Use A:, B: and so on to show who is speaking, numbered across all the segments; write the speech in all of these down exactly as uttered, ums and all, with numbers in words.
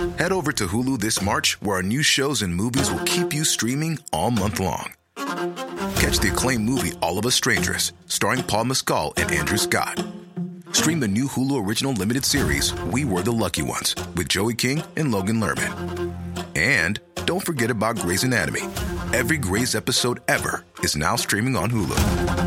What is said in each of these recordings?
A: Head over to Hulu this March, where our new shows and movies will keep you streaming all month long. Catch the acclaimed movie All of Us Strangers, starring Paul Mescal and Andrew Scott. Stream the new Hulu original limited series We Were the Lucky Ones with Joey King and Logan Lerman. And don't forget about Grey's Anatomy. Every Grey's episode ever is now streaming on Hulu.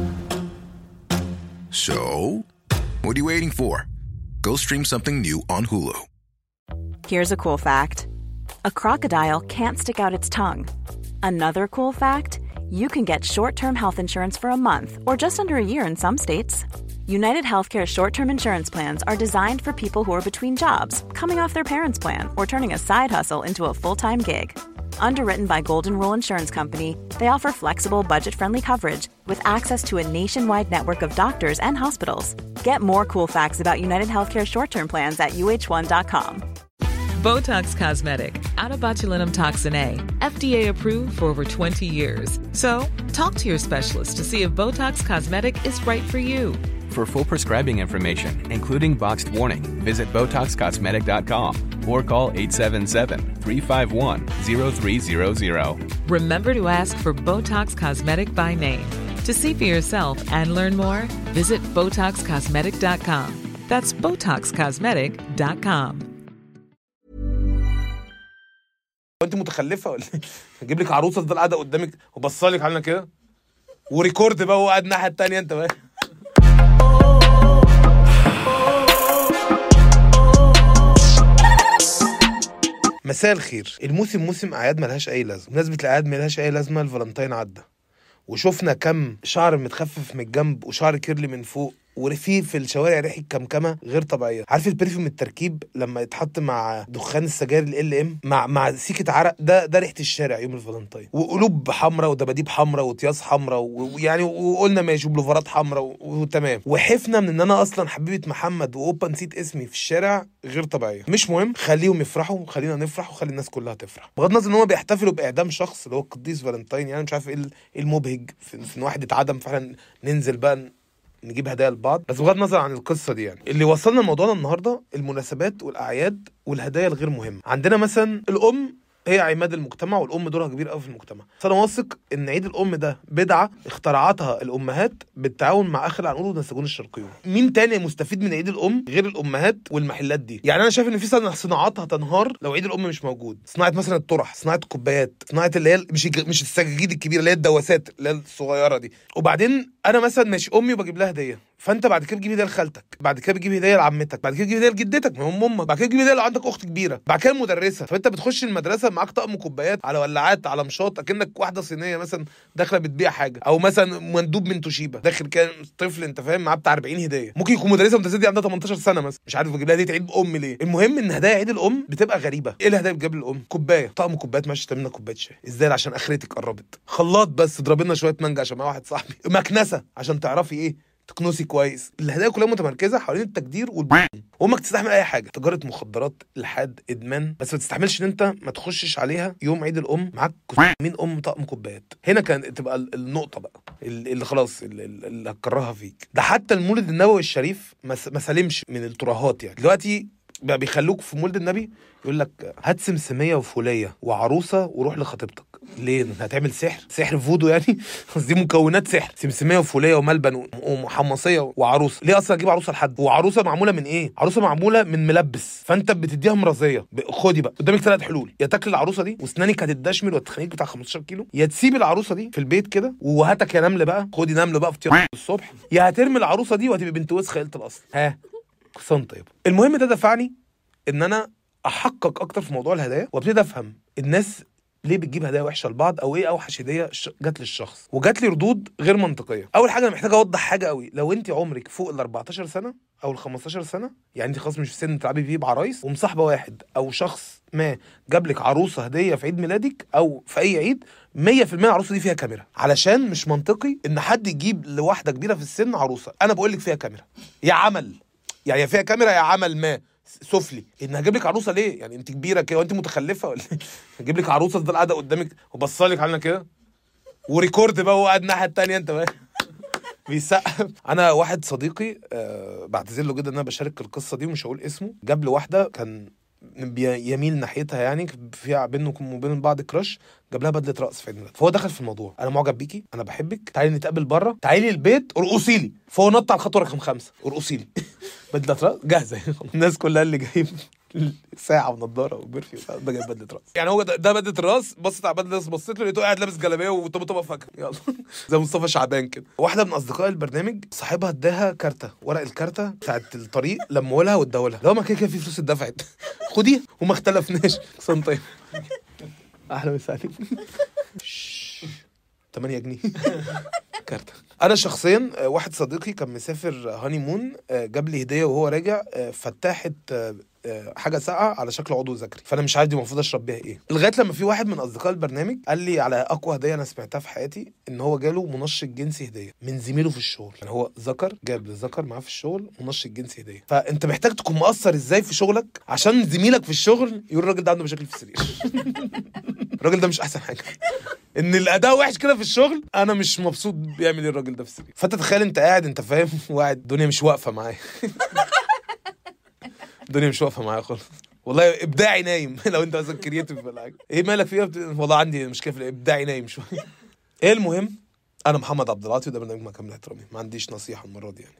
A: So, what are you waiting for? Go stream something new on Hulu.
B: Here's a cool fact. A crocodile can't stick out its tongue. Another cool fact, you can get short-term health insurance for a month or just under a year in some states. United Healthcare short-term insurance plans are designed for people who are between jobs, coming off their parents' plan, or turning a side hustle into a full-time gig. Underwritten by Golden Rule Insurance Company, they offer flexible, budget-friendly coverage with access to a nationwide network of doctors and hospitals. Get more cool facts about United Healthcare short-term plans at U H one dot com.
C: Botox Cosmetic, out of botulinum toxin A, F D A approved for over twenty years. So, talk to your specialist to see if Botox Cosmetic is right for you.
D: For full prescribing information, including boxed warning, visit Botox Cosmetic dot com or call eight seven seven, three five one, zero three zero zero.
C: Remember to ask for Botox Cosmetic by name. To see for yourself and learn more, visit Botox Cosmetic dot com. That's Botox Cosmetic dot com.
E: انت متخلفه ولا اجيب لك عروسه تفضل قاعده قدامك وبصالك علينا كده وريكورد بقى وقاعد الناحيه الثانيه انت بقى. مساء الخير. الموسم موسم اعياد ملهاش اي لازمه. بمناسبه الاعياد ملهاش اي لازمه، الفالنتين عدى وشوفنا كم شعر متخفف من الجنب وشعر كيرلي من فوق ورفيه في الشوارع ريحه كمكمه غير طبيعيه. عارف البرفيوم التركيب لما يتحط مع دخان السجاير ال ام مع مع سيكه عرق، ده ده ريحه الشارع يوم الفالنتين. وقلوب حمراء ودباديب حمراء وطياس حمراء ويعني وقلنا ماشي بلوفرات حمراء وتمام. وحفنا من ان انا اصلا حبيبه محمد واوبا نسيت اسمي في الشارع غير طبيعيه. مش مهم، خليهم يفرحوا، خلينا نفرح وخلي الناس كلها تفرح. بغض النظر ان هم بيحتفلوا باعدام شخص اللي هو القديس فالنتين، يعني مش عارف ايه المبهج في ان واحد اتعدم فعلا ننزل بقى نجيب هدايا لبعض. بس بغض النظر عن القصه دي، يعني اللي وصلنا لموضوعنا النهارده المناسبات والاعياد والهدايا الغير مهمه. عندنا مثلا الام هي عماد المجتمع، والام دورها كبير قوي في المجتمع. فانا واثق ان عيد الام ده بدعه اخترعتها الامهات بالتعاون مع اخر العنقود والنساجون الشرقيون. مين تاني مستفيد من عيد الام غير الامهات والمحلات دي؟ يعني انا شايف ان في صناعات هتنهار لو عيد الام مش موجود. صناعه مثلا الطرح، صناعه الكوبايات، صناعه اللي هي مش مش السجاجيد الكبيره، اللي هي الدواسات اللي هي الصغيره دي. وبعدين انا مثلا ماشي امي وبجيب لها هديه، فانت بعد كده بتجيب هديه لخالتك، بعد كده بتجيب هديه لعمتك، بعد كده بتجيب هديه لجدتك ما هم امك، بعد كده بتجيب هديه لو عندك اخت كبيره، بعد كده المدرسه. فانت بتخش المدرسه معاك طقم كوبايات على ولعات على مشاط، اكنك واحده صينيه مثلا داخله بتبيع حاجه، او مثلا مندوب من توشيبا داخل كان طفل انت فاهم معاه بتاع أربعين هديه. ممكن يكون مدرسه متزدي عندها تمنتاشر سنه مثلا، مش عارف بجيب لها هديه عيد ام ليه. المهم ان هدايا عيد الام بتبقى غريبه. ايه الهدايا بتجيب للام؟ كوبايه، طقم كوبايات، ماشي تعمل لنا كوبايه شاي ازاي عشان اخرتك قربت، خلاط بس اضرب لنا شويه مانجا عشان مع واحد صاحبي، مكنسه عشان تعرفي ايه تكنسي كويس. الهدايا كلها متمركزه حوالين التقدير والبن. وامك تستحمل اي حاجه، تجاره مخدرات، الحاد، ادمان، بس ما تستحملش ان انت ما تخشش عليها يوم عيد الام معاك مين ام طقم كوبايات. هنا كان تبقى النقطه بقى اللي خلاص اللي هتكرهها فيك. ده حتى المولد النبوي الشريف ما سلمش من الترهات. يعني دلوقتي بقى بيخلوك في مولد النبي يقول لك هات سمسميه وفوليه وعروسه وروح لخطيبتك. ليه؟ هتعمل سحر؟ سحر فودو يعني؟ دي مكونات سحر، سمسميه وفوليه وملبن ومحمصيه وعروسه. ليه اصلا اجيب عروسه لحد؟ وعروسه معموله من ايه؟ عروسه معموله من ملبس، فانت بتديها مرضيه. خدي بقى قدامك ثلاث حلول، يا تاكل العروسه دي واسنانك هتدشمل وتخليك بتاع خمستاشر كيلو، يا تسيب العروسه دي في البيت كده وهاتك يا نمله بقى، خدي نمله بقى في الصبح، يا هترمي العروسه دي وهتبقى بنت وسخ قلت الاصل. ها قصان طيب. المهم ده دفعني ان انا احقق اكتر في موضوع الهدايا وابتدي افهم الناس ليه بتجيب هدايا وحشه لبعض، او ايه اوحش هديه جات للشخص. وجات لي ردود غير منطقيه. اول حاجه انا محتاج اوضح حاجه قوي، لو انت عمرك فوق ال أربعتاشر سنه او ال خمستاشر سنه، يعني انت خلاص مش في سن تلعبي فيه بعرايس، ومصاحبه واحد او شخص ما جاب لك عروسه هديه في عيد ميلادك او في اي عيد، مية في المية العروسه دي فيها كاميرا. علشان مش منطقي ان حد يجيب لواحده كبيره في السن عروسه. انا بقول لك فيها كاميرا يا عمل، يعني فيها كاميرا يا عمل ما سفلي. ان هجيب لك عروسه ليه؟ يعني انت كبيره كده وانت متخلفه ولا هجيب لك عروسه تفضل قاعده قدامك وبصالك علينا كده وريكورد بقى وقاعد الناحيه الثانيه انت بقى بيسقف. انا واحد صديقي أه بعتذر له جدا ان انا بشارك القصه دي ومش هقول اسمه، جاب له واحده كان بي- يميل ناحيتها، يعني في بينكم وبين بعض كراش، جاب لها بدله رقص في عيد ميلادها. فهو دخل في الموضوع، انا معجب بيكي، انا بحبك، تعالي نتقابل بره، تعالي البيت ارقصي لي. فهو نط على الخطوه رقم خمسة، ارقصي لي. بدله رقص جاهزه. الناس كلها اللي جايب ساعه ونضاره وبرفيو ده جايب بدله راس. يعني هو ده, ده بدله الراس. بصت على بدله الراس، بصيت له لقيته قاعد لابس جلابيه وطبطبه فاكهه، يلا زي مصطفى شعبان كده. واحده من اصدقاء البرنامج صاحبها اداها كارته، ورق الكارته بتاعت الطريق، لمولها واداولها. لو ما كده كده في فلوس اتدفعت، خديها وما اختلفناش. سنتين احلى مسا عليك. تمانية جنيه كارته. انا شخصيا واحد صديقي كان مسافر هاني مون، جاب لي هديه وهو راجع فتحت حاجه ساقعه على شكل عضو ذكري، فانا مش عارف دي المفروض اشرب بيها ايه. لغايه لما في واحد من اصدقاء البرنامج قال لي على اقوى هديه انا سمعتها في حياتي، ان هو جاله منشط جنسي هديه من زميله في الشغل. يعني هو ذكر جاب للذكر معاه في الشغل منشط جنسي هديه. فانت محتاج تكون مؤثر ازاي في شغلك عشان زميلك في الشغل يقول الراجل ده عنده مشاكل في السرير. الراجل ده مش احسن حاجه، ان الاداء وحش كده في الشغل، انا مش مبسوط بيعمل ايه الراجل ده في السرير. فانت تخيل انت قاعد، انت فاهم، وقاعد الدنيا مش واقفه معايا. الدنيا مش واقفه معايا خالص والله. ابداعي نايم. لو انت مثلا كرييتيف ولا حاجه، ايه مالك فيها؟ بت... والله عندي مشكله في ابداعي نايم شويه. ايه المهم، انا محمد عبد العاطي وده برنامج ما كامل احترامي. ما عنديش نصيحه المره دي يعني.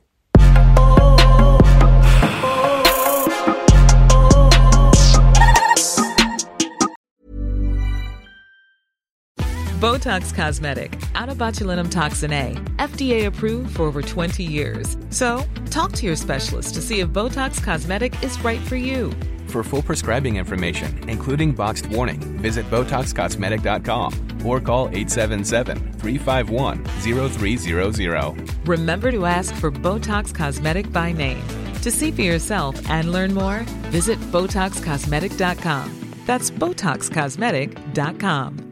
C: Botox Cosmetic, out of botulinum toxin A, F D A approved for over twenty years. So, talk to your specialist to see if Botox Cosmetic is right for you.
D: For full prescribing information, including boxed warning, visit Botox Cosmetic dot com or call eight seven seven, three five one, zero three zero zero.
C: Remember to ask for Botox Cosmetic by name. To see for yourself and learn more, visit Botox Cosmetic dot com. That's Botox Cosmetic dot com.